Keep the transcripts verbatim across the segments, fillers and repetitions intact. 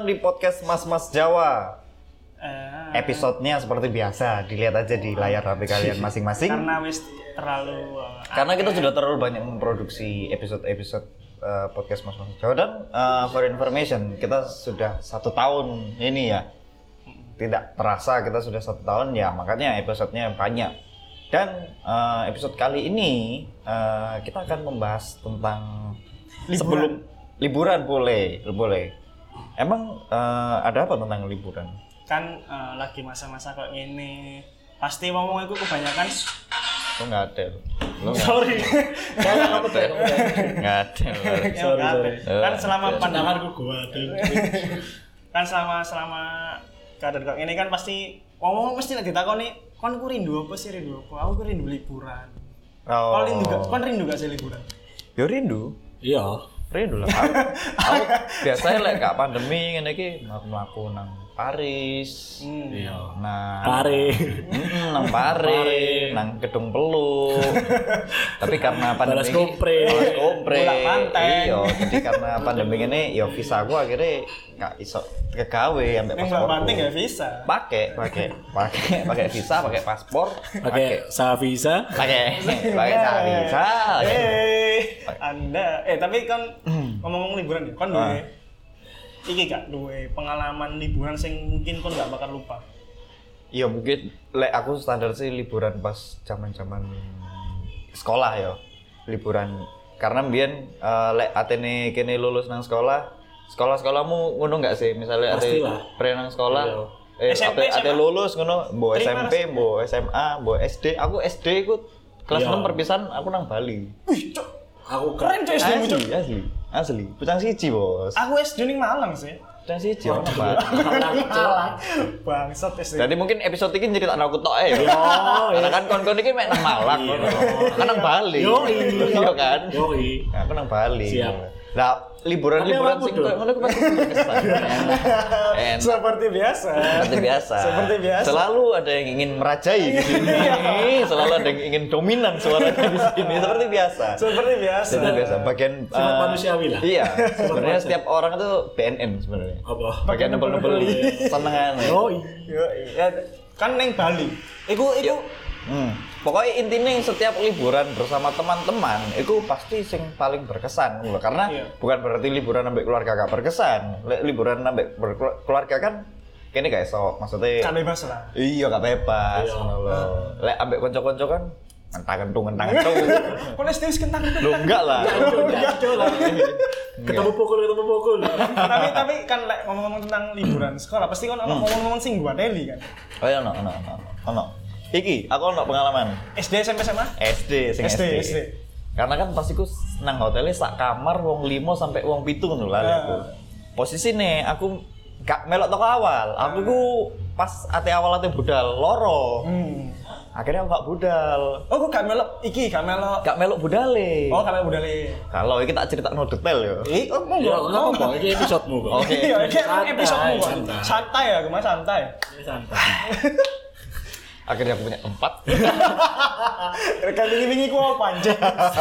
datang di podcast Mas-Mas Jawa. Uh, Episodenya seperti biasa, dilihat aja di layar H P kalian masing-masing. Karena wis terlalu uh, Karena kita sudah terlalu banyak memproduksi episode-episode uh, podcast Mas-Mas Jawa. Dan uh, for information, kita sudah satu tahun ini ya. Tidak terasa kita sudah satu tahun ya, makanya episodenya banyak. Dan uh, episode kali ini uh, kita akan membahas tentang liburan. sebelum liburan boleh, boleh. Emang uh, ada apa tentang liburan? Kan uh, lagi masa-masa kayak gini, pasti ngomong itu kebanyakan. Lo nggak ada, lo nggak Sorry, ada, nggak ada. sorry, sorry. Kan selama Ya, pandanganku gua kan selama selama keadaan kayak ini kan pasti ngomong mesti lagi ditakoni, kon ku rindu apa sih rindu apa? Aku ku rindu liburan. Oh. Kau rindu gak? Kon rindu gak sih liburan? Yo rindu. Iya. Rindu lah. Aku, aku biasanya lek gak pandemi ngene iki mlaku nang Paris. Hmm. Iya. Nah, Pare. Mm, nang Pare, nang Gedung Peluk. Tapi karena pandemi Balas Kopre. Balas Kopre. Bola Panteng. Iya, jadi karena pandemi ini ya visa gua akhirnya gak iso kegawe ambek Yang paspor. gak penting ya visa. Pakai, pakai, pakai, pakai visa, pakai paspor, Pakai Savisa. pakai, pakai visa. Eh, Anda, eh tapi kan ngomong-ngomong liburan ya, kan duwe Ah. iki gak duwe pengalaman liburan sing mungkin kon gak bakal lupa. Iya mungkin lek aku standar sih liburan pas zaman-zaman sekolah ya. Liburan karena mbiyen uh, lek atene kene lulus nang sekolah, sekolah-sekolahmu ngono enggak sih? Misalnya ate Pastilah. pre nang sekolah, eh S M P, ate, ate S M A. lulus ngono, mbok S Terima M P, mbok S M A, mbok S D. Aku S D ikut kelas Iya. enam perpisahan aku nang Bali. Wih, cok. Aku Keren coy S D mu, cok. Asli, asli, asli. Pucang siji, Bos. Aku S D ning Malang sih. Pucang siji ono, Pak. Malang. Bangsat S D. Jadi mungkin episode ini cerita aku tok ae. Yo, Karena kan kon-kon iki mek nang Malang ngono. Kan nang Bali. Yoi. Iya kan? Yoi. Aku nang Bali. Siap. Lah, liburan-liburan Tapi sing apa, Bud? koyo ngono ku pasti berkesan. Enak. Seperti biasa. Seperti biasa. Seperti biasa. Selalu ada yang ingin merajai di sini. Selalu ada yang ingin dominan suaranya di sini. Seperti biasa. Seperti biasa. Seperti biasa. Bagian Sifat eh, manusiawi lah. Iya. Sebenarnya setiap orang itu B N N sebenarnya. Apa? Bagian nebel-nebel senengan. Yoi. Yo, ya, kan neng Bali. Iku iku Hmm. Pokoknya intinya setiap liburan bersama teman-teman itu pasti sing paling berkesan loh. Karena Iya. bukan berarti liburan ambek keluarga gak berkesan. Lek liburan ambek berkelu- keluarga kan kene gak iso, maksudnya kan bebas lah. iya gak bebas Iya. ngono lho. Lek ambek kanca-kanca kan ngentang-kentung ngentang-kentung. Kon S D wis kentang Lho enggak lah. Ketemu pukul, ketemu pukul. tapi tapi kan like, ngomong-ngomong tentang liburan sekolah pasti kan ono ngomong-ngomong sing gua Deli kan. Oh iya ono ono ono. Ono. Iki aku ono pengalaman. S D S M P S M A? S D sing S S D, D. S D. Karena kan pasti ku nang hotelnya sak kamar wong limo sampai wong pitu ngono lah aku. Posisi nih aku gak melok toko awal. Aku ku pas ate awal ate budal loro. Hmm. Akhirnya aku gak budal. Oh, kok gak melok iki, gak melok. Gak melok budale. Oh, gak melok budale. Kalau iki tak ceritakno detail ya. Eh, oh, Ya, monggo. enggak apa-apa. Ini episode-mu kok. Oke. Iya, iki Santai, episode-mu kok. santai. Santai ya, kemana santai. Ini santai. Akhirnya aku punya empat. Rekan wingi-wingi ku apa anjing?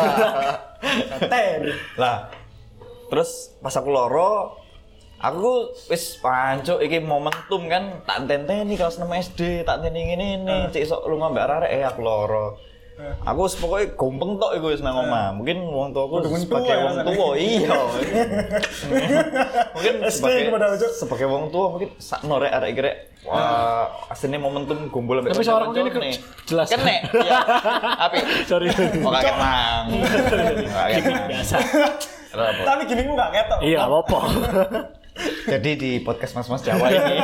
Santai. Lah. Terus pas aku loro aku wis pancuk iki momentum kan tak tenteni kelas enam S D, tak tenteni ngene ini, cek sok lu ngambek arek eh aku loro. Aku wis pokoke gompeng tok iku wis nang omah. Mungkin wong tuaku Udah wong sebagai tua ya wong rasanya. tua, iya. Mungkin S D sebagai kepada ojo. sebagai wong tua mungkin sak norek arek iki rek. Wah, asline momentum gombol ambek Tapi suara kanca-kanca ini ke- nih. jelas. Kenek. Iya. Api. Sorry. Oh kakek mang. Kakek mang. Biasa. Kenapa? Tapi gini ku gak ketok. Iya, apa-apa. Jadi di podcast Mas-Mas Jawa ini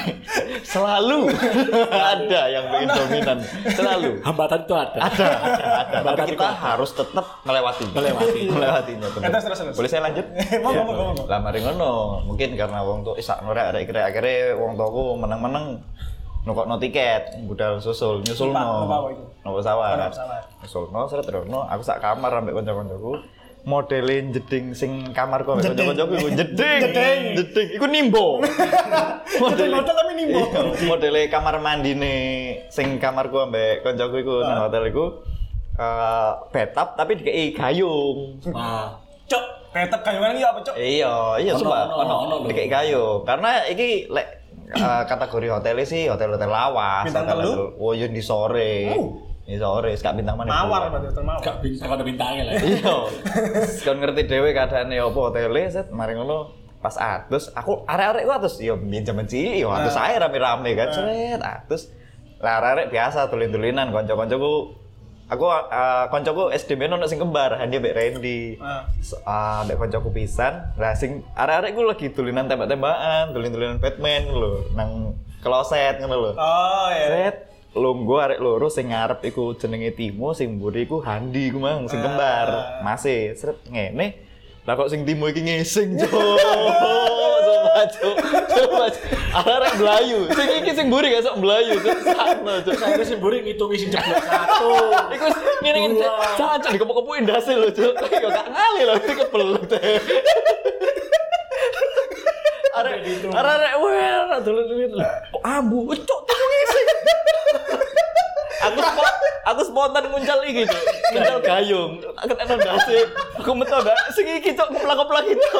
selalu ada yang bikin dominan, selalu Hambatan itu ada. ada, ada, ada. Tapi Hambatan kita itu ada. harus tetap melewati, Melewati. melewatinya. tentu. Terus, terus, terus. Boleh saya lanjut? Monggo, monggo, monggo. Lah mari ngono, mungkin karena wong tuh isak norek arek kira akhirnya wong tuaku meneng-meneng nukokno tiket, budal susul, nyusulno. Numpak- numpak apa iku? Numpak pesawat. Numpak pesawat. Nyusulno, seret terusno, aku sak kamar ambek kanca-kancaku. Modelin jeding sing kamarku ambek kanca-kancaku iku jeding. Jeding. Jeding iku nimbo. Hotel hotel tapi nimbo. Iya, modele kamar mandine sing kamarku ambek kancaku iku nang hotel iku eh bathtub tapi dikei gayung. Wah. Cok, Ketek kayuan iki apa, Cuk? Iya, iya Ono, sumpah, ono, ono ono lho. dikek kayu. Karena iki lek eh, kategori hotel sih hotel-hotel lawas, Bintang hotel telu? oh yo di sore. Oh. Di sore, gak bintang mana? Mawar berarti hotel mawar. Gak bintang ada bintangnya lah. Iya. Kon ngerti dhewe keadaane opo hotele, set mari ngono pas atus, aku arek-arek ku atus yo biyen jaman cilik yo atus ae rame-rame kan, set atus. Lah arek biasa tulin-tulinan kanca-kancaku. Aku uh, kancaku S D men ono sing kembar, Handi mbek Randy. Ah. Ah, mbek kancaku pisan. Lah sing arek-arek ku lagi tulinan tembak-tembakan, tulin-tulinan Batman lho, nang kloset ngono lho. Oh iya. Set lungguh arek loro sing ngarep iku jenenge Timo, sing mburi iku Handi iku mang sing kembar. Masih sret ngene. Lah kok sing Timo iki ngising, Cuk. Coba, Cuk. Coba. Arek Melayu. Sing iki sing mburi gak sok Melayu, Cuk. Sakno, Cuk. Saya sih buri ngitung sing jeblok satu. Iku ngene-ngene caca dikepuk-kepukin ndase lho, Cuk. Yo gak ngali lho, iki kebelet. Arek arek weh, dolen-dolen. Kok ambu, Cuk, Timo ngising. Aku spo- aku spontan nguncal iki, Cuk. Nguncal gayung. Aku enak ndase. Aku metu gak sing iki, Cuk, keplak-keplak itu.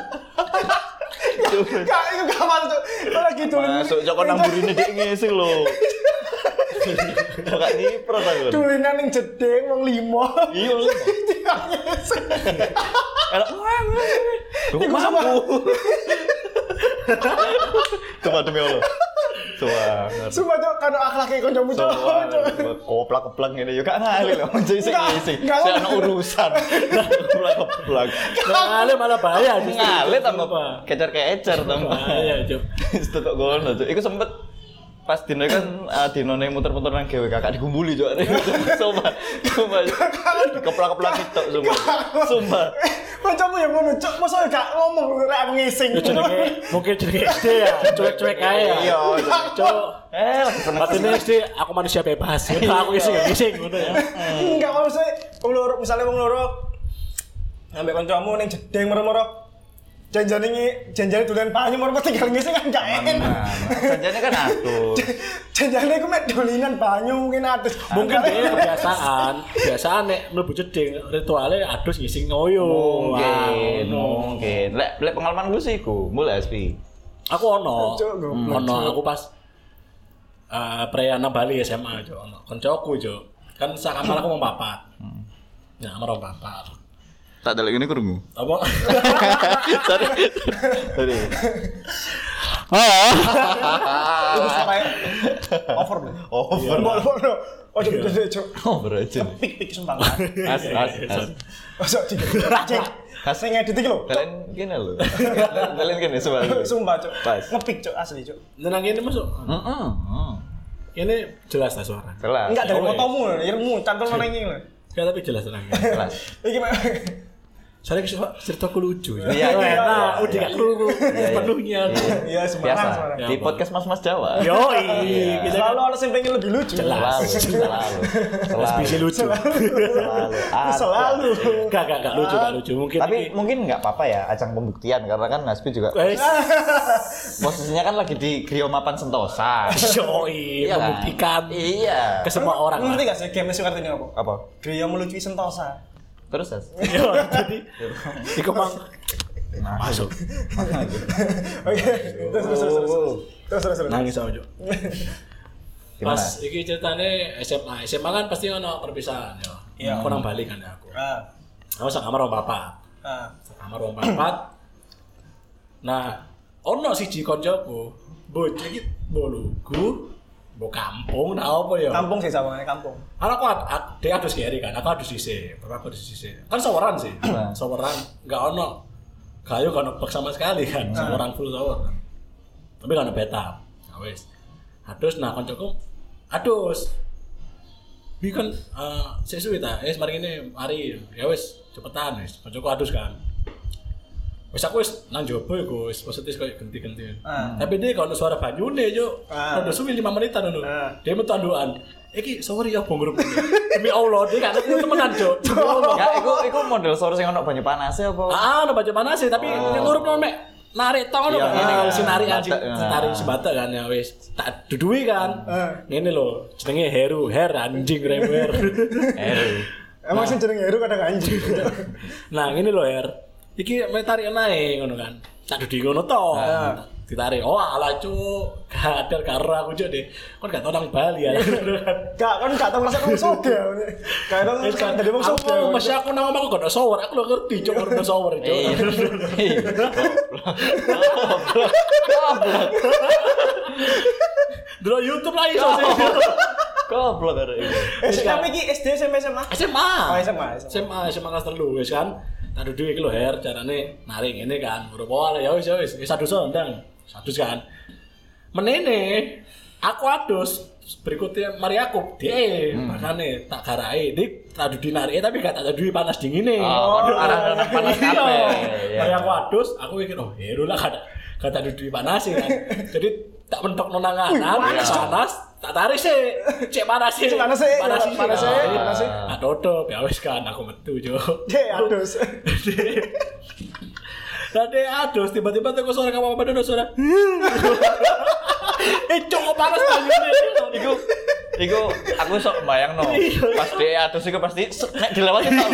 Gak, itu gak masuk, Cuk. Kok lagi tulin. Masuk Cuk kon namburine dik ngising lho. Kok gak nyipro ta kon. Tulinan ning jeding wong limo. Iya lho. Elok. Kok mampu. Coba demi Allah. Coba. Sumpah, Cuk, kan akhlake kancamu, Cuk. Koplak-keplak ngene yo gak ngali lho. Jadi sing Enggak, ngising. enggak. Saya ana urusan. Koplak-keplak. Ngale malah bahaya. Ngale tambah kecer-kecer tambah. Bahaya, Cuk. Wis tok ngono, Cuk. Iku sempet pas dino kan uh, dinone muter-muter nang G W K kakak digumbuli, Cuk. Sumpah. Sumpah. Keplak-keplak tok sumpah. Sumpah. Kancamu yang ngono, Cuk. Masa gak ngomong rek aku ngising. Ya jenenge mungkin jenenge S D ya, cuek-cuek ae ya. Iya, Cuk. Eh, Patine S D aku manusia bebas. Aku ngising ya ngising ngono ya. Enggak maksudnya wong loro, misale wong loro ambek kancamu ning jeding moro-moro janjane ngi janjane dolen banyu moro tinggal ngising kan gak enak. Janjane kan atus. Janjane ku mek dolinan banyu mungkin atus. Mungkin dia kebiasaan, kebiasaan nek mlebu jeding ritualnya adus ngising ngoyo. Mungkin, Wah, mungkin. Lek lek pengalaman gue sih iku, mulai S P. Aku ono. Cuk, goblok, Ono Cuk. aku pas eh perayaan Bali S M A, Cuk, ono. Koncoku, Cuk. Kan sak kamar aku mau papat. Ya, kamar mau papat. Tak ada lagi ini kurungu. Apa? Sorry. Sorry. Itu sampai over deh. Over. Over. Oh, Cuk, Cuk, Cuk. Over aja. Pik-pik sumpah. As as as. Masuk di. Cek. Sing ngedit iki lho. Kalian gini lho. Kalian gini coba. Sumpah, Cuk. Pas. Ngepik, Cuk, asli, Cuk. Nenang ini masuk. Heeh. Ini jelas lah suara. Kelas. Enggak dari Oh, motomu, irmu, cantol nang iki lho. Ya tapi jelas tenang. Kelas. Iki mek. Soalnya kisah ceritaku lucu. Iya, iya, Nah, iya, udah iya. gak kerungu sepenuhnya. Iya, Semarang, Biasa. Semarang. Di podcast Mas-mas Jawa. Yo, Iya. kita Selalu ada yang pengen lebih lucu. Jelas. Selalu. Selalu. Selalu. bisa lucu. Selalu. Ada. Selalu. Gak, gak, gak lucu, gak lucu. Mungkin Tapi ini- mungkin nggak apa-apa ya ajang pembuktian karena kan Naspi juga Wes, posisinya kan lagi di Grio Mapan Sentosa. yoi, Iya kan? membuktikan Iya. ke semua orang. Ngerti gak sih game suka ini apa? Apa? Gria melucu Sentosa. Terus As? Yo, jadi iku mang masuk. Oke, terus terus terus terus. Terus terus terus. Nangis aja. Gimana? Pas iki ceritane S M A. S M A kan pasti ono perpisahan yo. Iya. Aku nang Bali kan ya aku. Ah. Aku sak kamar wong papat. Ah. Sak kamar wong papat. Nah, ono siji koncoku, bocah iki boluku, mbok kampung nah apa ya? Kampung sih sawangane kampung. Karena aku ad, ad, dia adus kiri kan, aku adus sisi, bapak aku adus sisi. Kan saweran sih, saweran, nggak ono, kayu kan ono bak sama sekali kan, saweran full sawer kan. Tapi kan ono beta, nah wes. Adus, nah koncoku, adus. Bi kan, uh, sesuai ta, eh mari ini, mari, ya wes, cepetan wes. Koncoku adus kan. Wes aku wes nang jopo iku wes positif kayak genti-genti. Ah. Tapi dia kalau suara banyune yo, Ah. udah suwi lima menitan ngono. Ah. Dia metu andukan. Iki sorry ya bong grup ini. Demi Allah dia kan itu temenan, Cuk. Demi Allah. Ya, iku iku model sore sing ono banyu panase apa? Ah, ono baca panas sih, tapi yang ngurup mek narik tau ono Iya, kan. iya. Si narik anjing, Batak, si narik si batak kan ya wis. Tak dudui kan. Ngene lho, jenenge Heru, Her anjing rewer. Eh. Emang sih jeneng Heru kadang anjing. Nah, ngene lho Her. iki me tarik naik ngono kan. Tak dudi ngono to. Ditarik. Oh, ala cuk. Kadar karo aku cuk deh. Kon gak tau nang Bali ya. Gak kan gak tau ngerasa kamu soge. Gak tau ngerasa dari wong soge. Aku masih aku nang omahku gak ada shower. Aku lo ngerti cuk ono shower cuk. Dulu YouTube lah iso sih. Goblok arek iki. Eh, sampe iki S D S M P S M A. S M A. Oh, S M A. S M A, S M A kelas telu wis kan. Tak duduk iki lho Her, carane narik ngene kan. Ora ya wis ya wis, wis adus ndang. Adus kan. Menene aku adus berikutnya mari aku dia hmm. makane tak garai dik tak duduk narik tapi gak tak duduk panas dingine. Oh, arah panas kabeh. Mari aku adus, aku mikir oh hero lah kada kada duduk panas kan. Jadi tak mentok nonangan, panas panas. Tak tarik sih, cek panas sih, panas sih, panas sih, panas sih, panas sih. Ah, tutup, ya wes kan, aku metu jo. Deh, adus. Tadi adus, tiba-tiba tuh suara kamu apa dulu suara. Eh, cukup panas banget. Iku, iku aku sok bayang no. Pas dia adus iku pasti nek dilewati tau.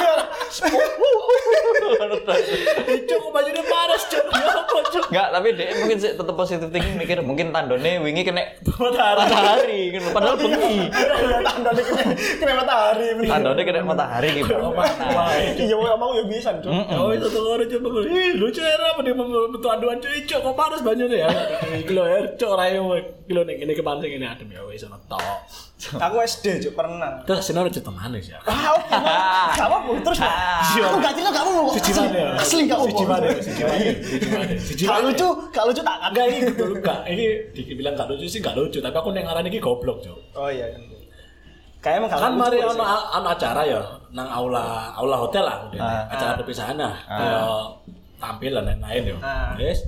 Cukup bajunya panas cok. Enggak, tapi dia mungkin sih tetap positif thinking mikir mungkin tandone wingi kena matahari. Matahari kan padahal bengi. Tandone kena kena matahari bener. Tandone kena matahari gitu. Iya mau ya bisa cok. Oh itu tuh orang coba. Ih lucu era apa dia membentuk aduan cok kok panas bajunya ya. Kilo air cok rayo kilo nek ini kepancing ini adem ya wis ono tok. Aku S D cok pernah. Terus sini ada cerita manis ya. Ah oke. Gak apa-apa terus. Aku gak cerita kamu mau. Asli gak apa-apa. Siji mana? Siji mana? Siji mana? Siji Gak lucu, gak lucu tak agak ini betul gak. Ini dibilang gak lucu sih gak lucu, tapi aku neng ngaran iki goblok, Cuk. Oh iya. Kayak emang kan mari ono ono acara ya nang aula aula hotel lah udah. Acara perpisahan lah. Kayak tampil dan lain-lain yo. Wis.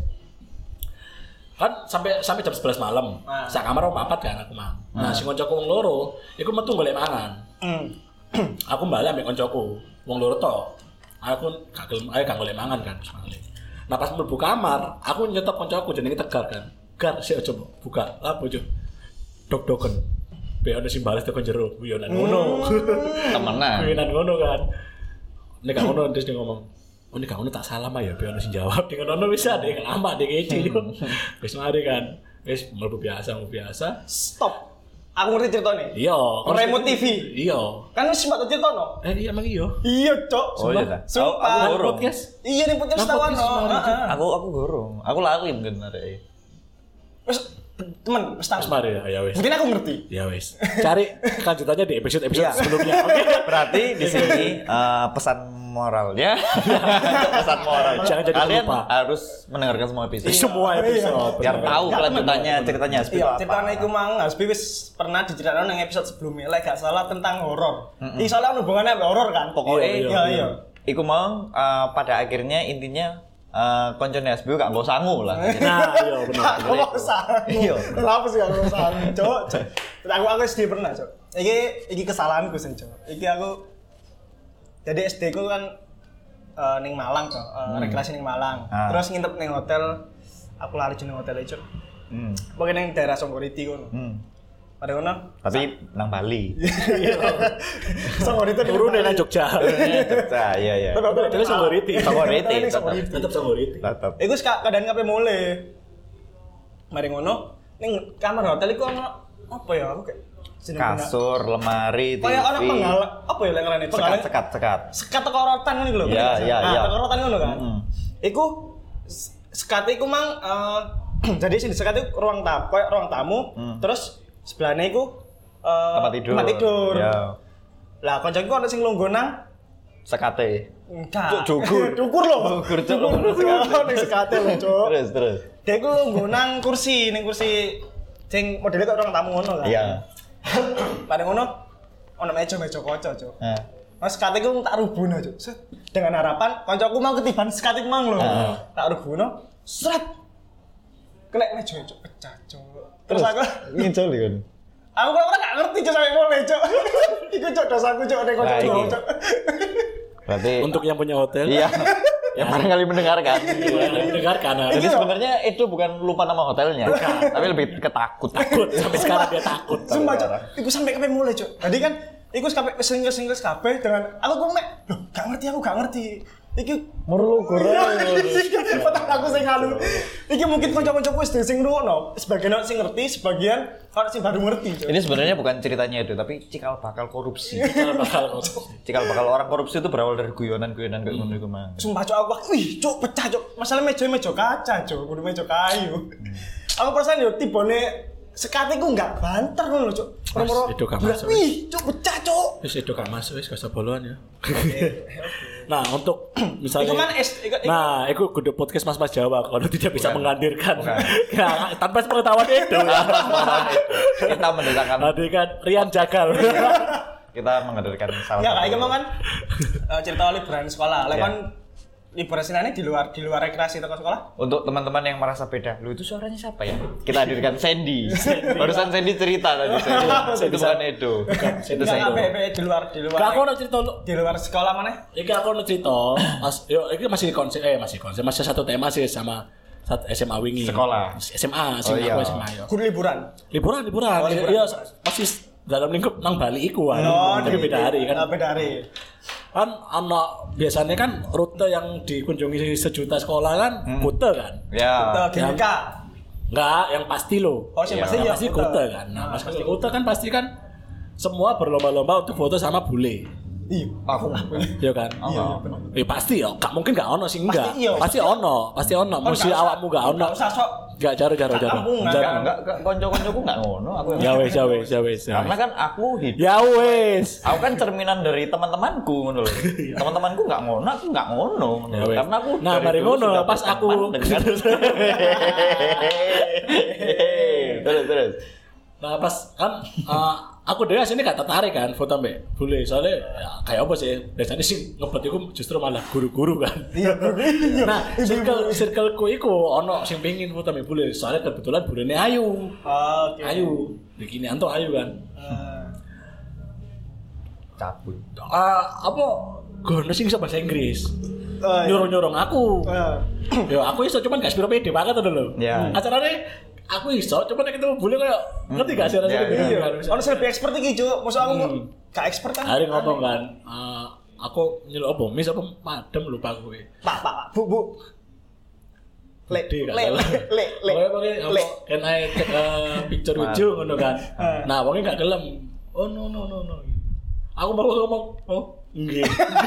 Kan sampai sampai jam sebelas malam. Sak kamar om papat kan aku mang. Nah, sing kancaku wong loro, iku metu golek mangan. Aku balik ambek kancaku, wong loro tok. Aku gak gelem ae gak golek mangan kan semale. Nah pas mlebu kamar, aku nyetop kancaku jenenge Tegar kan. Gar sik coba buka. Lapo jo. Dok-doken. Be ono sing bales tekan jero, yo nang ngono. Temenan. Kuwi nang ngono kan. Nek gak ngono terus dia ngomong, "Oh nek gak ngono tak salah ya, be ono sing jawab." Dengan ono wis ade lama dek iki. Wis mari kan. Wis mlebu biasa, mlebu biasa. Stop. Aku ngerti ceritanya. Iya. Remote T V. Iya. Kan wis sempat cerita no. Eh iya emang iya. Iya, Cok. Oh iya ta. Sumpah. Aku gorong. Iya nih podcast tawan no. Aku aku gorong. Aku lali mungkin arek. Wis temen, wis tahu. Mari ya wis. Mungkin aku ngerti. Ya wis. Cari lanjutannya di episode-episode sebelumnya. Oke. Berarti di sini uh, pesan moralnya pesan moral. Jangan jadi kalian lupa. harus mendengarkan semua episode. Semua episode. Biar tahu kelanjutannya ceritanya Hasbi iya, apa. ceritanya iku mang Hasbi wis pernah diceritakan nang episode sebelumnya, lek gak salah tentang horor. Iki soalnya hubungannya sama horor kan. Pokoknya iya iya. Iku mau uh, pada akhirnya intinya uh, koncone Hasbi gak nggo sangu lah. Nah, iya benar. Kok sangu? Iya. Kenapa sih gak sangu, Cok? Aku aku S D pernah, Cok. Iki iki kesalahanku sing, Cok. Iki aku jadi S D ku kan uh, ning Malang, Cok. Uh, hmm. Rekreasi ning Malang. Ah. Terus nginep ning hotel. Aku lari jeneng hotel e, Cok. Hmm. Pokoknya ning daerah Songgoriti kono. Hmm. Pada kono. Tapi nang Bali. Songgoriti turun nang Jogja. Jogja, iya iya. Tapi Songgoriti. Songgoriti. Tetep Songgoriti. Tetep. Iku keadaan kabeh mulai. Mari ngono ning kamar hotel iku ono apa ya? Aku kayak kasur, lemari, T V. Kayak ana penggal apa ya lek ngarane? Sekat, sekat, sekat. Sekat teko rotan ngono iku lho. Iya, iya, iya. Teko rotan ngono kan. Iku sekat iku mang jadi sing sekat iku ruang tamu, koyo ruang tamu, terus sebelahnya iku tempat tidur. Tempat tidur. Iya. Lah kancaku ana sing lungguh nang sekate. Enggak. Cukur. Cukur lho. Cukur cuk. Ning sekate lho, Cuk. Terus, terus. Dia iku lungguh nang kursi, ning kursi sing modelnya kok ruang tamu ngono kan. Iya. Pada ngono ono meja-meja kaca, Cuk. Heeh. Mas sekate ku tak rubuhno, Cuk. Dengan harapan kancaku mau ketiban sekate mang lho. Tak rubuhno, sret. Kena meja, Cuk, pecah, Cuk. Terus aku ngincol kan. Aku kok ora gak ngerti Cuk sampe mulai, Cuk. Iku Cuk dosaku Cuk nek kancaku, Cuk. Berarti untuk yang punya hotel. Iya. Yang barangkali mendengarkan. Mendengarkan. Jadi sebenarnya itu bukan lupa nama hotelnya, tapi lebih ketakut. Takut sampai sekarang dia takut. Sumpah, Cuk. Iku sampai kabeh mulai, Cuk. Tadi kan iku sampai singles-singles kabeh dengan aku kok mek, loh, gak ngerti aku gak ngerti. iki merlu goreng. Iki foto aku sing anu. Iki mungkin kanca-kancaku wis sing ngrungokno, sebagian sing ngerti, sebagian kalau sing baru ngerti. Ini sebenarnya bukan ceritanya itu, tapi cikal bakal korupsi. Cikal bakal korupsi. Cikal bakal orang korupsi itu berawal dari guyonan-guyonan kayak ngono iku mah. Sumpah cok aku, wih cok pecah cok. Masalah meja meja kaca cok, kudu meja kayu. Aku perasaan yo tibone sekatiku enggak banter ngono cok. Mas, itu gak masuk. Wih cok pecah cok. Wis itu gak masuk wis gak boloan ya. Nah, untuk misalnya Itu kan es- itu- itu- Nah, itu kudu podcast Mas-mas Jawa kalau tidak bisa Bukan. menghadirkan. Ya, tanpa pengetahuan itu. Kita mendatangkan Tadi kan Rian Jagal. kita menghadirkan salah Ya kayak satu- emang kan eh, cerita liburan sekolah. Lek Ya. kan liburan sinane di luar di luar rekreasi toko sekolah. Untuk teman-teman yang merasa beda, lu itu suaranya siapa ya? Kita hadirkan Sandy. Barusan Sandy cerita tadi. Sandy. Itu bukan Edo. Itu Enggak Sandy. apa di luar di luar. Gak aku ada cerita lu. di luar sekolah mana? Iki aku ada cerita. Mas, yo iki masih konsep eh masih konsep masih satu tema sih sama satu S M A wingi. Sekolah. S M A, sing Oh, iya. aku S M A yo. Guru liburan. Liburan, liburan. Oh, liburan. Iya, masih dalam lingkup nang Bali iku kan. Tapi di- beda hari kan. Oh, beda hari. Kan ana biasanya kan rute yang dikunjungi sejuta sekolah kan kute kan. Ya. Ke G B K. Enggak, yang pasti loh. Oh, sih Iya. pasti Yang ya. pasti Kute. kute kan. Nah, Ah, pas kute kan pasti kan semua berlomba-lomba untuk foto sama bule. Iya. Aku. Iya kan? Iya. Eh pasti ya, gak mungkin gak ono sih enggak. Pasti iya. Pasti ono, pasti ono. Oh, Mesti nggak usah- awakmu gak ono. nggak usah sok. Enggak jaro jaro jaro. kampungan. Jaro. Enggak, enggak, enggak, konco-koncoku enggak ngono. Aku yang- Ya wes, ya wes, ya wes. ya Karena wes. kan aku hidup. Ya wes. Aku kan cerminan dari teman-temanku ngono loh. Teman-temanku enggak ngono, aku enggak ngono. ngono. Ya wes. Karena aku Nah, dari mari dulu ngono, sudah pas aku berteman dengan terus terus. Nah pas kan uh, aku dhewe sini gak tertarik kan foto mbek bule soalnya ya, kayak apa sih biasanya sih ngebet iku justru malah guru-guru kan. Iya. Nah circle circleku iku ono sing pengin foto mbek bule soalnya kebetulan bulene ayu. Oke. Ayu, begini anto ayu kan. Eh, Cabul. Ah apa gono sing iso bahasa Inggris. Oh, iya. Nyuruh-nyuruh aku. eh. Ya aku iso cuman gak sepiro pede banget to lho. Ya. Acarane aku iso cuman nek ketemu bule kayak ngerti gak sih rasanya Ya, gitu ya. kan. Ono sing lebih expert iki, Cuk. Maksud aku Hmm. gak expert kan? Hari ngomong kan, eh, aku nyeluk apa, mis apa madem lupa gue. Pak, Pak, Pak, Bu, Bu. Le, Gede le, kan, le, le, le, Pokoknya pakai apa, le. can I take a picture with you, ngono kan. Nah, wongnya gak gelem. Oh no no no no. Aku mau ngomong, oh enggak.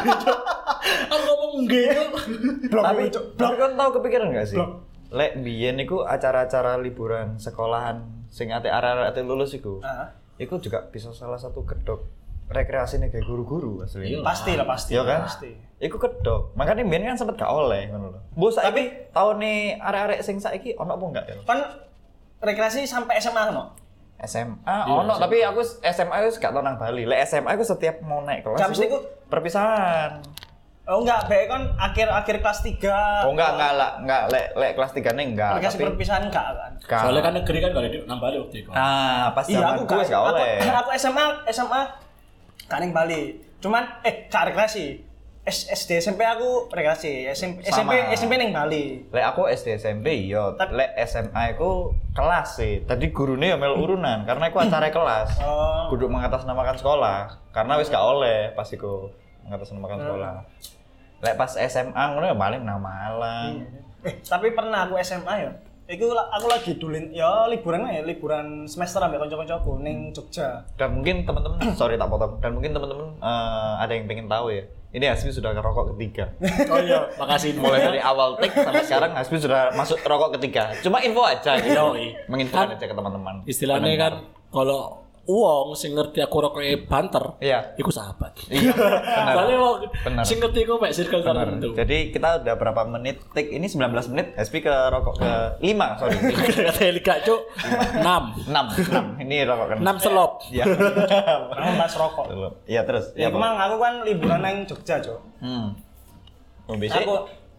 Aku ngomong enggak. Blok, Tapi, Cuk. tapi kan tahu kepikiran nggak sih? Blok. Lek biyen iku acara-acara liburan sekolahan sing ate arek-arek ate lulus iku. Ah. Iku juga bisa salah satu kedok rekreasi nih kayak guru-guru asli. Iya. Pasti lah, pasti. Iya kan? Pasti. Iku kedok. Makanya biyen kan sempet gak oleh ngono lho. Bu saiki tahun nih arek-arek sing saiki ono apa enggak ya? Kan rekreasi sampai S M A no? S M A Iya, ono S M A. tapi aku S M A wis gak tau nang Bali. Lek S M A aku setiap mau naik kelas Gak mesti iku ku- perpisahan. Oh enggak, baik kan akhir-akhir kelas tiga. Oh enggak enggak lah, enggak lek lek kelas tiga nih enggak. Rekreasi Tapi perpisahan enggak kan? Ka- Soalnya kan negeri kan gak ada di nambah waktu itu. Nah, pas Iya, zaman aku gue gak, gak aku, oleh. aku S M A, S M A kan yang Bali. Cuman eh gak rekreasi. S- SD S M P aku rekreasi. S M P S M P Sama. S M P ning Bali. Lek aku S D S M P iya, Tapi- lek S M A aku kelas sih. Tadi gurune ya mel urunan karena aku acara kelas. Oh. Kudu mengatasnamakan sekolah karena wis gak oleh pas iku mengatasnamakan sekolah. Lek pas S M A ngono ya paling nang Malang. Eh, tapi pernah aku S M A ya. Iku la- aku lagi dulin ya liburan ya, liburan semester ambek kanca-kancaku ning Jogja. Dan mungkin teman-teman, sorry tak potong. Dan mungkin teman-teman eh, ada yang pengen tahu ya. Ini Hasbi sudah ngerokok ketiga. Oh iya, makasih. Mulai dari awal take sampai sekarang Hasbi sudah masuk rokok ketiga. Cuma info aja gitu. Yoi. Menginfokan Kan aja ke teman-teman. Istilahnya kan kalau uang sing ngerti aku rokoknya banter, Iya. iku sahabat. Iya, benar. Soalnya wong Benar. sing ngerti iku mek circle Benar. tertentu. Jadi kita udah berapa menit take ini sembilan belas menit. Hasbi ke rokok ke lima, sorry. Kata Elika cuk, enam. enam, enam. Ini rokok kan. enam selop. Iya. Aku bahas rokok. Iya terus. Ya Iya, Pak. kemang aku kan liburan nang Jogja, Cok. Hmm. Mau besok? Aku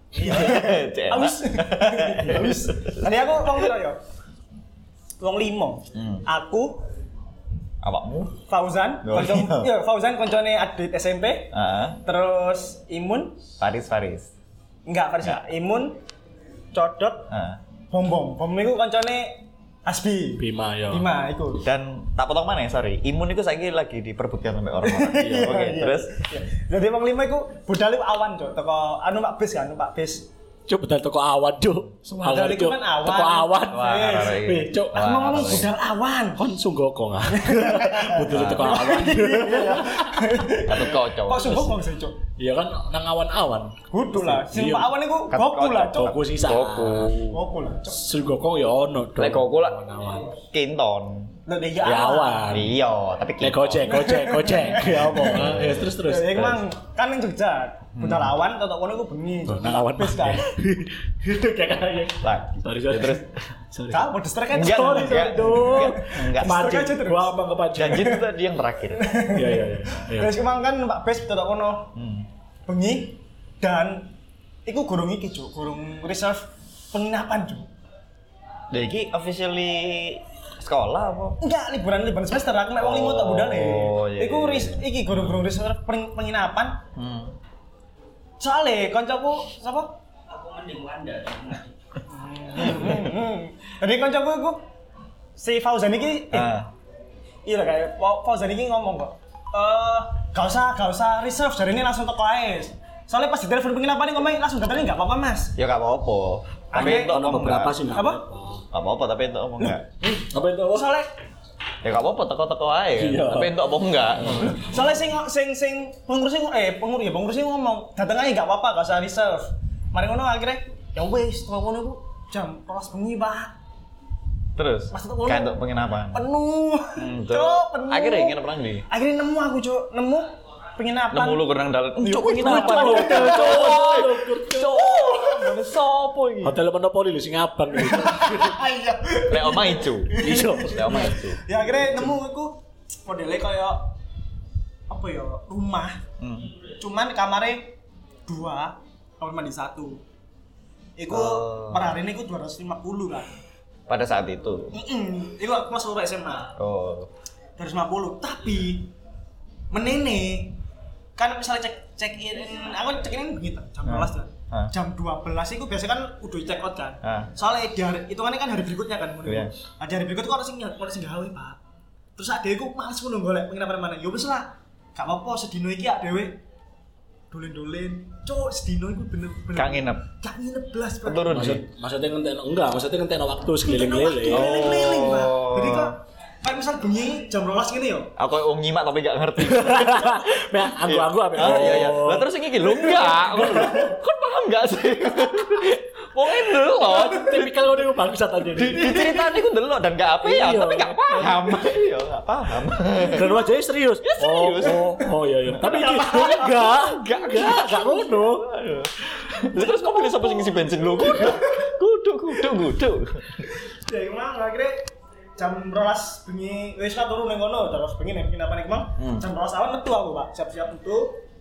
Cek, Aus. Aus. Tadi aku wong piro ya? Wong limo. Hmm. Aku Awakmu? Fauzan, Oh, konco iya. iya Fauzan koncone adit S M P. Heeh. Terus Imun, Faris Faris. enggak Faris, enggak. Imun, Codot, Heeh. Bom Bom. Bom iku koncone Asbi. Bima ya. Bima iku. Dan tak potong mana ya, sorry. Imun itu saiki lagi diperbutkan sampai orang-orang. Iya, oke. Terus Jadi wong lima iku budal iku awan, Cuk. Teko anu Pak Bis kan, Pak Bis. Cuk bedal toko awan, Cuk. Budal iku kan awan. Toko awan. Wah, Wih, Cuk. Aku ngomong budal awan. Kon sunggokong ah. Budal toko awan. satu kocok. Kok sungguh kok sih, Cuk? Iya kan nang awan-awan. Kudu lah. Sing Iya. Pak awan iku Kat- Goku lah, Cuk. Goku sisa. Goku. Goku lah, Cuk. Sunggokong ya ono. Lek Goku lah awan. Kinton. Lah Ya awan. Iya, tapi Lek Kinton. gojek, gojek, gojek. Ya apa? Ya terus terus. Ya emang kan ning Jogja. Budal awan totok kono iku bengi. Tuh, nang awan Bis kan. Itu kayak kayak. Lah, Sorry, sorry. ya terus Sorry. Kak, mau distrek kan? Enggak, Sorry, enggak. sorry, dong. Enggak. Kepancing. aja terus. Gua apa kepancing? janji itu tadi yang terakhir. Iya iya iya. Iya. Terus kemang kan Pak Bes totok kono. Hmm. Bengi dan iku gurung iki, Cuk. Gurung reserve penginapan, Cuk. Lah iki officially sekolah apa? Enggak, liburan liburan semester aku mek wong limo tak budale. Oh, iya, Iku iya, ris, iki gurung-gurung reserve peng- penginapan. Hmm. Soale kancaku sapa? Aku mending Wanda. Jadi kancaku iku si Fauzan iki eh, Ah. iya kayak Fa- Fauzan iki ngomong kok. Eh, gak usah, gak usah reserve dari ini langsung toko ae. Soalnya pas di telepon penginapan ngomong langsung katanya enggak apa-apa, Mas. Ya enggak apa-apa. Tapi Ada itu Ono beberapa sih enggak. Apa? Enggak apa-apa, tapi itu apa enggak? Apa itu? Soalnya Ya enggak apa-apa, teko-teko ae. kan. Iya. Tapi itu apa enggak? soalnya sing sing sing pengurus sing eh pengurus ya pengurus sing ngomong datang aja enggak apa-apa, gak usah reserve. Mari ngono akhirnya ya wis, toko ngono ku jam kelas bengi, Pak. Terus Pas itu ngono. kan untuk penginapan. Penuh. Hmm, Cuk, terus penuh. akhirnya ingin perang di. Akhirnya nemu aku, Cuk. Nemu penginapan. Nemu lu kurang dalam. Cuk, penginapan. Cuk, Cuk. Mana sopo iki? Hotel Monopoli lho sing abang gitu. Iya. Lek oma ijo. Iya. Lek oma ijo. Ya akhirnya nemu aku modelnya kayak apa ya, rumah. Hmm. Cuman kamarnya dua, kamar mandi satu. Iku Oh. per hari ini iku dua ratus lima puluh kan. Pada saat itu. Heeh. Iku aku kelas loro S M A. Oh. dua ratus lima puluh. Tapi menene kan misalnya cek check in, aku check in begitu jam dua belas kan. Hah? Jam dua belas itu biasanya kan udah check out kan. Hah? Soalnya di hari itu kan hari berikutnya kan. Iya. Ada hari berikut kok harus sing harus sing gawe, Pak. Terus adekku males ngono golek penginapan mana. Ya wis lah. Gak apa-apa sedino iki adewe dolen-dolen. Cuk, sedino iku bener-bener. Kang nginep. Gak nginep blas, Pak. Turun Maksud di. maksudnya ngenteno enggak, maksudnya ngenteno waktu sekeliling-keliling. Oh. Keliling-keliling, Pak. Jadi kok kayak misal bengi jam dua belas gini yo. Aku wong nyimak tapi gak ngerti. Nah, anggu-anggu apa? Oh iya iya. Lah terus iki lho enggak. Kon paham enggak sih? Wong itu loh. Tipikal ngono bangsat aja. Di, di cerita ini aku delok dan gak apa ya, Iya. tapi gak paham. Iya, gak paham. Dan wajahnya serius. serius. Oh, oh, oh iya iya. Tapi iki enggak, enggak, enggak, enggak ngono. Lah terus kok pilih sapa sing ngisi bensin lho? Kudu, kudu, kudu, kudu. Ya emang akhirnya jam rolas bengi wis lah turu ning kono terus bengi nek penginapan iki mang jam rolas awan metu aku, Pak. Siap-siap metu.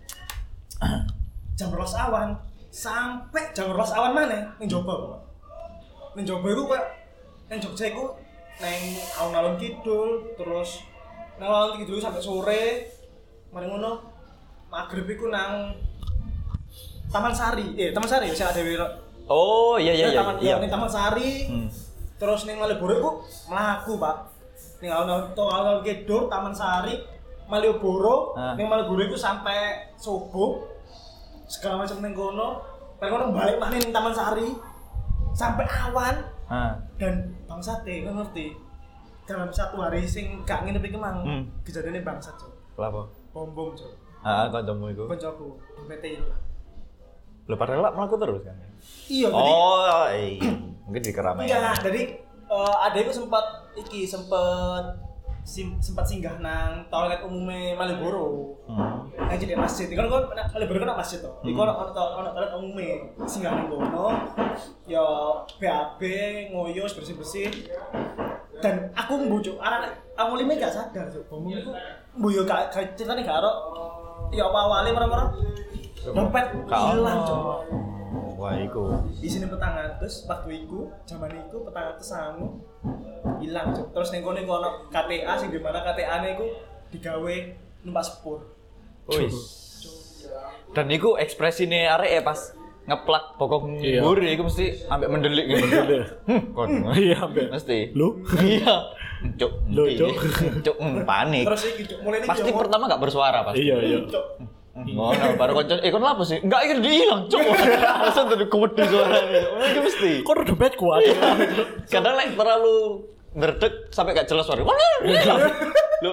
Jam rolas awan sampai jam rolas awan mana ning Jombang, Pak. Ning Jombang iku kok ning Jogja iku ning alun-alun kidul terus nang alun kidul sampai sore. Mari ngono magrib iku nang Taman Sari. Eh, Taman Sari sing ada wiro. Oh, iya iya iya. Taman Iya. ning Taman Sari. Hmm. Terus ning Malioboro iku mlaku, Pak. Ning alun-alun to alun-alun kidul Taman Sari, Malioboro, Ah. ning Malioboro iku sampai subuh. Segala macam ning kono. Bar kono balik maneh ning Taman Sari sampai awan Ah. dan bangsate, kau ngerti? Dalam satu hari sing gak nginep iki mang, Hmm. kejadiannya bangsat, Cuk. Lapo? Bom-bom, Cuk. Ah, kancamu iku. Koncoku, P T I lah. Lho padahal lak mlaku terus kan. Iya, jadi Oh, iya. Mungkin di keramaian. enggak, jadi uh, adekku sempat iki sempat sim, sempat singgah nang toilet umumnya Malioboro. Hmm. Nang jadi masjid. Kan kon Malioboro kan masjid to. Iku ono ono ono toilet umumnya. Singgah nang kono. Ya B A B ngoyo bersih-bersih. Dan aku mbujuk anak aku lime gak sadar, Cuk. Bom iku mbuyo gak gak ceritane gak ero. Ya apa awale merem-merem. Dompet hilang, Cuk. Wah, iku. Di sini petang atus waktu iku zaman iku petang atus sangu hilang, Cuk. Terus ning kono iku ono K T A sing di mana K T A-ne iku digawe numpak sepur. Wis. Dan iku ekspresine arek ya pas ngeplak pokok Iya. mburi iku mesti ambek mendelik gitu. Hmm, kon. Iya, ambek. Mesti. Lu? Iya. Cuk. Lu, Cuk. Cuk hmm, panik. Terus iki Cuk, mulai iki. Pasti yo, pertama gak bersuara pasti. Iya, iya. Cuk. Ngono, baru konco, eh kon lapo sih? Enggak, iki diilang, Cuk. Langsung tadi kuwedi suarane. Oh, iki mesti. Kok udah dompet kuat. Kadang lek terlalu ngerdek sampai gak jelas suara. Mana? Lho.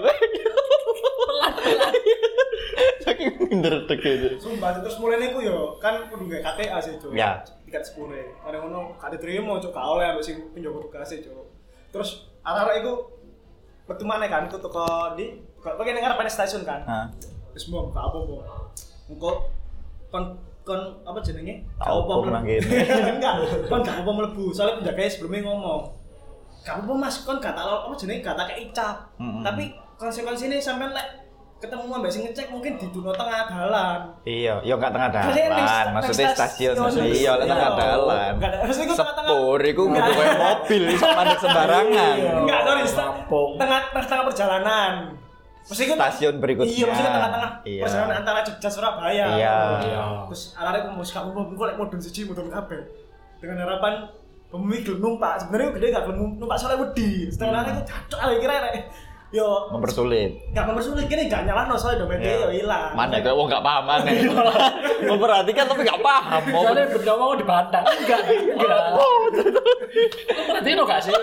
Saking ngerdek gitu. Sumpah terus mulai niku yo kan kudu gawe K T A sih, Cuk. Ya. Tiket sepuluh. Ada ngono gak diterima, Cuk, gak oleh ambek sing penjaga tugas Cuk. Terus arek-arek iku metu maneh kan ku teko di kok kene ngarep stasiun kan. Heeh. Wis mbok gak apa-apa. Engko kon kon apa jenenge? Gak Tau apa-apa kok nang mlebu. kene. Enggak, kon gak apa-apa mlebu. Soalnya penjaganya sebelumnya ngomong. Gak apa-apa Mas, kon gak tak apa jenenge gak tak kei cap. Mm-mm. Tapi konsekuensine sampean lek ketemu ambek sing ngecek mungkin di duno tengah dalan. Iya, yo gak tengah Maksudnya ning dalan, sta- maksudnya ning stasiun. stasiun. Iya, lek tengah Iya. dalan. Enggak ada, maksudnya iku tengah-tengah. Sepur iku Enggak. kudu koyo mobil iso mandek sembarangan. Enggak, sorry, sta- Rampung. tengah tengah perjalanan. Maksudnya Stasiun berikutnya. Iya, maksudnya tengah-tengah Iya. perjalanan antara Jogja Surabaya. Iya. Iya. Terus arek-arek mau sekarang mau engko lek mudun siji mudun kabeh. Dengan harapan pemilik gelem numpak. Sebenarnya gede gak gelem numpak soalnya wedi. Setengah arek iku cacok arek kira arek. Yo Mempersulit. gak mempersulit gini gak nyalahno soalnya dompetnya yo hilang. Mana kayak wong gak paham mana. Memperhatikan tapi gak paham. Mau Soalnya benda mau dibantah. Enggak, enggak. Perhatiin lo gak sih?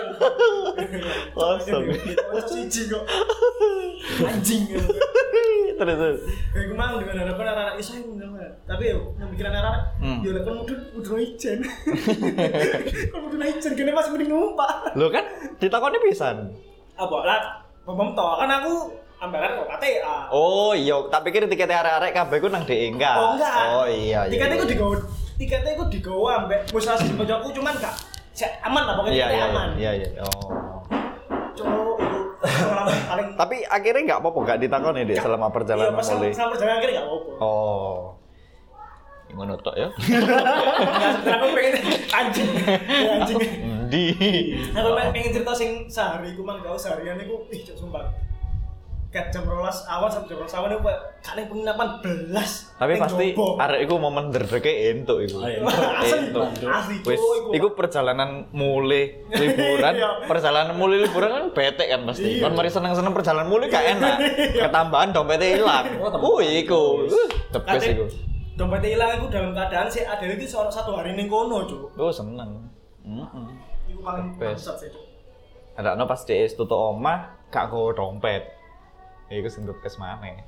kosong. Cocok siji kok. Anjing. Terus terus. Kayak kemang dengan harapan anak-anak iso yang tapi yo yang pikiran anak-anak Hmm. yo lek kon mudun mudun ijen. Kon mudun ijen kene masih mending numpak. Lo kan ditakoni pisan. Apa lah pom to kan aku ambaran kok K T A. Oh iya, tak pikir tiket arek-arek kabeh ku nang D E enggak. Oh enggak. Oh iya iya. Tiketnya iku digawa tiketnya iku digawa ambek musrasi di pojokku cuman gak sek aman lah pokoknya Iya tiketnya iya aman. iya iya. Oh. Cuk, itu pengalaman paling Tapi akhirnya enggak apa-apa, enggak ditakoni Dik selama Iya, perjalanan pas mulai. selama perjalanan akhirnya gak apa-apa. Oh. Ngono tok ya. Enggak sebenarnya aku pengen anjing. Ya, anjing. Di. Aku pengen cerita sing sehari ku mang gak seharian iku ih cuk sumpah. Kat jam rolas awal sampai jam rolas awal iku gak ning penginapan belas. Tapi Ning pasti Jobo. arek iku momen nderdeke entuk iku. Oh, iya. Asli, Entuk. asli Wis, cuk iku perjalanan mulai liburan, Iya. perjalanan mulai liburan kan bete kan pasti. Iya. Kan mari seneng-seneng perjalanan mulai gak enak. Ketambahan dompetnya hilang. Oh, iku. Uh, the best Kate iku. dompetnya hilang aku dalam keadaan sih ada lagi seorang satu hari ning kono cuk. Oh, seneng. Heeh. Iku paling Best. bangsat sih cuk. Ada no pas D S tutup omah, gak go dompet. Iku sing kes maneh.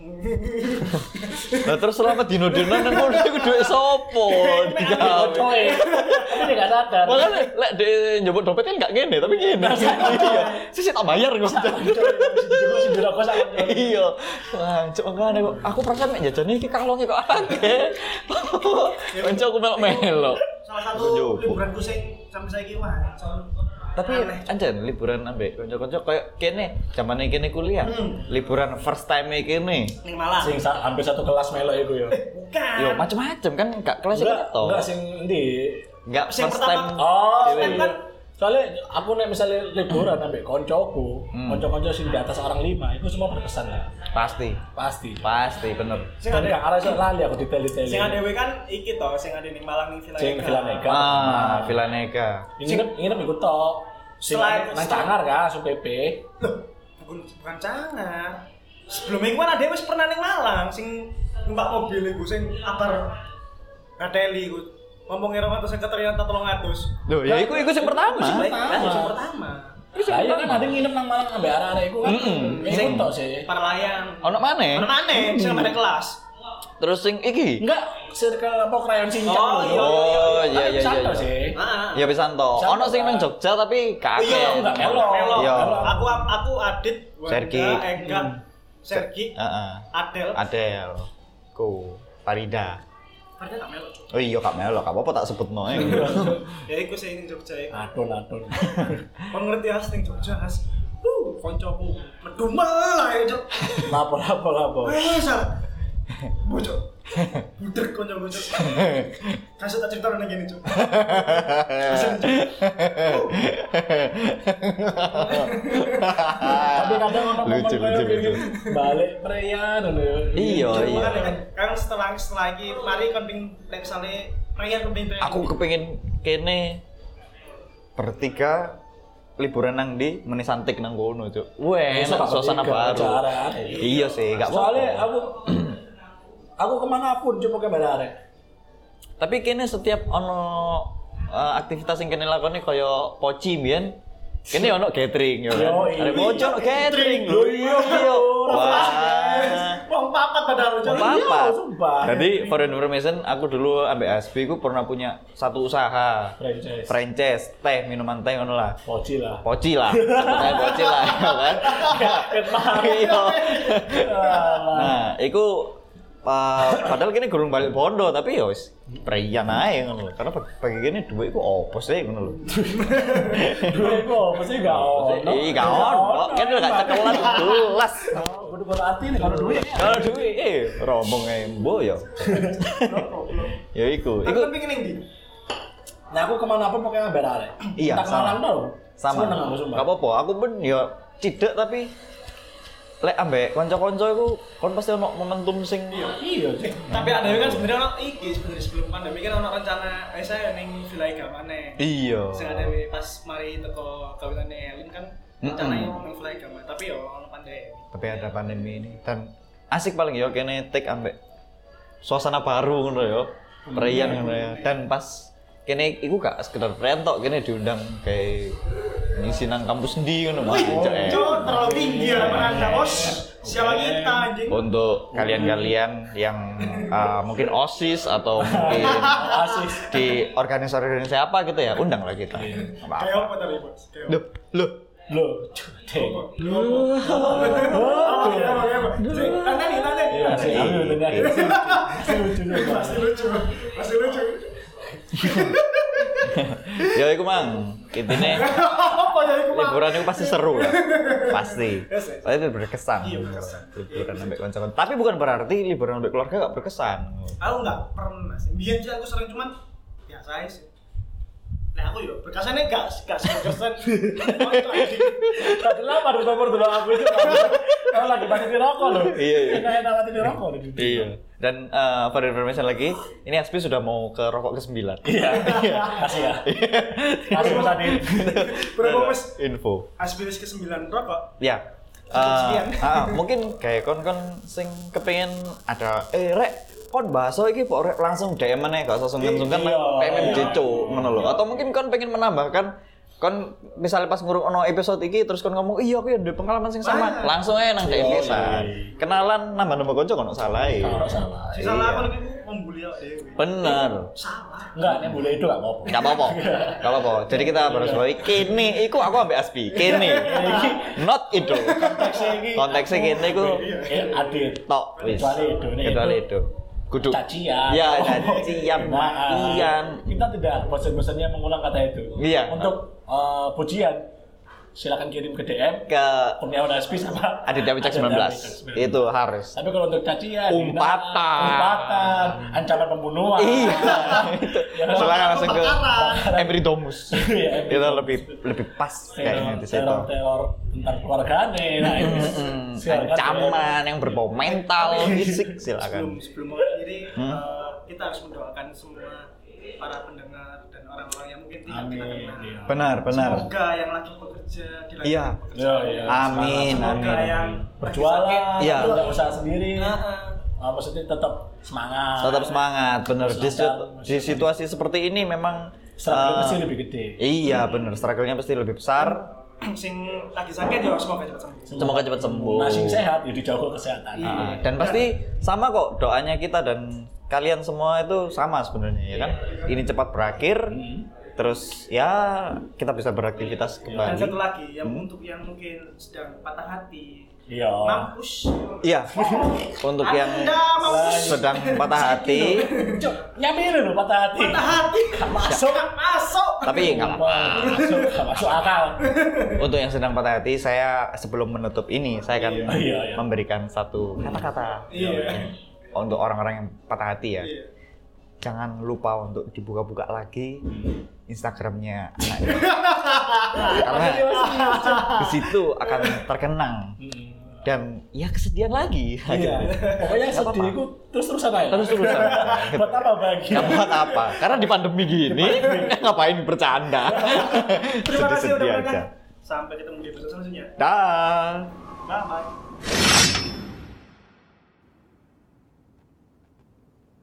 Lah terus selama dino-dino nang kono iku dhuwit sopo? Digawe. Coy. Tapi dia gak sadar. Makanya lek de njupuk dompet kan gak ngene, tapi ngene. Iya. Sisi tak bayar kok. Juga sih dirokok sama. Iya. Wah, cuk ngene kok. Aku perasaan mek jajane iki kalonge kok akeh. Kanca aku melok-melok. Salah satu Njupuk. liburanku sing sampai saiki wah soal Tapi aneh. anjen liburan ambek kanca-kanca kayak kene, zamane kene kuliah. Hmm. Liburan first time kene. ning Malang. Sing sa- hampir satu kelas melok iku ya. Bukan. Yo macem-macem kan gak kelas Enggak, itu. enggak sing endi? Enggak Sing first pertama- time. Oh, Dewe. iya. Soalnya aku nek misalnya liburan ambek koncoku, Hmm. konco-konco sing di atas orang lima, itu semua berkesan ya. Pasti. Pasti. Pasti bener. Sing Dan ada gak arah iso lali aku detail-detail. sing ada kan iki to, sing ada ning Malang ning Villa Sing Eka. Villa Eka. Ah, Villanega. Nginep nginep iku tok. Sing Selain- nang Cangar kan, Su P P. Loh, bukan bukan Cangar. Sebelumnya kan ada wis pernah ning Malang sing numpak mobil iku sing abar Kateli iku. Ngomong ngira ratus sekretariat tolong atus. Loh, ya iku iku sing pertama. Sing pertama. Lah iya kan ada nginep nang Malang ambek arek-arek iku kan. Mm-mm. Sing tok sih. Para layang. Ono maneh? Mana mana? Sing ada kelas. Terus sing iki. Enggak, circle apa krayon cincang Oh, lho. iya. Oh, iya iya Tapi iya. santai sih. Heeh. Ya pisan to. Bisa Ono sing to, nang kan? Jogja tapi kakek. Iya, enggak melo. Melo. Iya. Aku aku Adit, Wanda, Sergi. Ega, Sergi, Heeh. Adel. Adel. Ku Farida. Padahal gak melo, Cuk. Oh iya Kak Melo, gak apa-apa tak sebutno ae. Ya iku sing ning Jogja iku. Adon adon. Kon ngerti as ning Jogja as. Uh, koncoku medun malah ya, Cuk. Lapo lapo lapo. Wes, ah. Bocok. Budek koncoku, Cuk. Kasih tak cerita nang ngene, Cuk. Tapi kadang ono momen Lucu, kayak lucu, gini, lucu. balik preyan ngono. Iya, Cuk, iya. makanya kan kan setelah setelah iki mari kon ping lek misale pengen kepengin Aku kepengin kene bertiga liburan nang di menisantik nang kono, Cuk. Weh, enak suasana baru. Iya sih, gak apa-apa. Soalnya aku aku kemana pun cuma ke barare. Tapi kene setiap ono uh, aktivitas yang kene lakoni kaya poci mbiyen, kene ono catering yo kan. Arek poci ono catering lho. Iya. Wah. Wong papat padahal Cuk. Papat. sumpah. Jadi for information, aku dulu ambek Asbi ku pernah punya satu usaha. Franchise. Franchise teh, minuman teh ngono lah. Poci lah. Poci lah. Sebutnya poci lah, ya kan. Iya. Nah, iku uh, padahal kini gurung balik bondo tapi ya wis preyan ae ngono lho. Karena bagi kene dhuwit iku opo sih ngono lho. Duit kok pasti gak ono. Iya gak ono. Kan udah gak cekelan jelas. Kudu bola ati nek ono duit. Kalau duit eh rombong ae mbo ya. Ya iku. Iku pengen ning ndi? Nah aku kemana pun pokoknya ngambil arek. Iya, Tak sama. Malang tau. sama. Seneng aku sumpah. Gak apa-apa. Aku pun ya cidek tapi lek ambek kanca-kanca iku kon pasti ono momentum sing Iya, Cik. Tapi ada kan sebenarnya ono iki sebenarnya sebelum pandemi kan ono rencana eh saya ning Villa Iga maneh. iya. Sing ada pas mari teko kawinane Elin kan rencananya ning Villa Iga maneh tapi yo ono pandemi. Tapi ada pandemi ini dan asik paling ya kene take ambek suasana baru ngono ya. Perian ngono ya. Dan pas kene iku gak sekedar perian tok, kene diundang kayak ngisi nang kampus endi ngono Mas. Cok, terlalu tinggi ya Anda, Bos. Siapa kita anjing? Untuk kalian-kalian yang uh, mungkin OSIS atau mungkin Asis. di organisasi-organisasi apa gitu ya, undang lah kita. Kayak Apa-apa. apa tadi, Bos? Kayak Loh, loh. Loh, Cik. Tanya nih, tanya. Iya, sih. Aku tanya. Lucu lucu. Masih lucu, masih lucu. Ya iku mang, intine Apa ya itu, Pak? liburan itu pasti seru lah. Pasti. Yes, yes. Pasti berkesan. Iya, berkesan. Liburan sampai kanca-kanca. Tapi bukan berarti liburan sampai keluarga gak berkesan. Aku nggak pernah sih. Biar sih aku sering cuman biasa aja sih. Nah aku yo berkesannya nggak nggak berkesan. Tadi lama di nomor dulu aku itu kalau lagi mati di rokok loh. Iya, iya. Enak-enak mati di rokok loh. Iya. Dan uh, for information lagi, ini Aspi sudah mau ke rokok ke sembilan. Iya. Kasih ya. Kasih Mas Adi. Berapa Mas? Info. Aspiris ke sembilan rokok. Ya. Cukup Uh, sekian. ah, mungkin kayak kon-kon sing kepengen ada eh rek kon bahasa iki kok rek langsung D M ae gak usah sungkan-sungkan Iya, pengen iya. jeco ngono lho. Atau mungkin kon pengen menambahkan kon misalnya pas ngurung ono episode iki terus kon ngomong iya aku ya ada pengalaman sing sama, Ah. langsung aja nang D M Iya, pisan. iya. Kenalan nambah-nambah kanca kono salah e. Kalau salah. Si salah aku nih membuli awak dewe. Bener. Salah. Enggak, nek boleh itu enggak apa-apa. Gak apa-apa. Gak apa-apa. Jadi kita harus bawahi kene iku aku ambek Aspi. Kene. Not itu. Konteksnya ini. Konteksnya kene iku Eh, Adit. tok wis. Kecuali itu, nih, Kecuali itu. itu. Kudu. Cacian. Ya, cacian, Nah, makian. kita tidak bosan-bosannya mengulang kata itu. Iya. Untuk eh, pujian, silakan kirim ke D M Ke Kurniawan Aspi sama Aditya Wicak sembilan belas. Itu harus. Tapi kalau untuk cacian, Umpatan. hinaan, umpatan, ancaman pembunuhan. Iya. Ya, Silakan langsung ke Kebakaran. Emery Domus. Iya, Itu lebih lebih pas kayaknya di situ. teror, teror tentang keluargane. Nah, itu Hmm, silakan ancaman yang berbau mental, fisik silakan. Sebelum sebelum mengakhiri Hmm. eh, kita harus mendoakan semua para pendengar dan orang-orang yang mungkin tidak kita Amin, kenal. iya. Benar, benar. Semoga yang lagi bekerja di lagi Iya. bekerja. Ya, ya. Amin, Semoga amin. yang Berjualan, Iya. tidak usaha sendiri. Nah, Ah, maksudnya tetap semangat. Tetap semangat, benar. Di, Terus situ- ada- di situasi seperti ini memang Struggle eh, pasti lebih gede. Iya, benar. Struggle-nya pasti lebih besar. sing lagi sakit ya semoga cepat sembuh. Semoga cepat sembuh. Nah, sing sehat ya dijaga kesehatan. Ah, dan pasti sama kok doanya kita dan kalian semua itu sama sebenarnya ya kan. Ini cepat berakhir. Hmm. Terus ya kita bisa beraktivitas Dan kembali. satu lagi yang Hmm. untuk yang mungkin sedang patah hati, Iya. mampus. Iya. Untuk yang Anda mampus. sedang patah hati, Cuk, nyampe lho patah hati. Patah hati. Masuk. Masuk. tapi nggak apa-apa. Masuk, nggak masuk akal. Untuk yang sedang patah hati, saya sebelum menutup ini, saya akan Iya, iya, iya. memberikan satu kata-kata Iya. untuk orang-orang yang patah hati ya. Iya. Jangan lupa untuk dibuka-buka lagi Instagramnya anak ini. Karena di situ akan terkenang. Hmm. dan ya kesedihan lagi. Iya. Pokoknya sedih itu terus-terusan aja. Terus-terusan. Buat apa bahagia? Nggak buat apa? Karena di pandemi gini ngapain bercanda? Terima kasih udah Sedih-sedih mendengar. aja. Sampai ketemu di episode selanjutnya. Dah. Bye bye.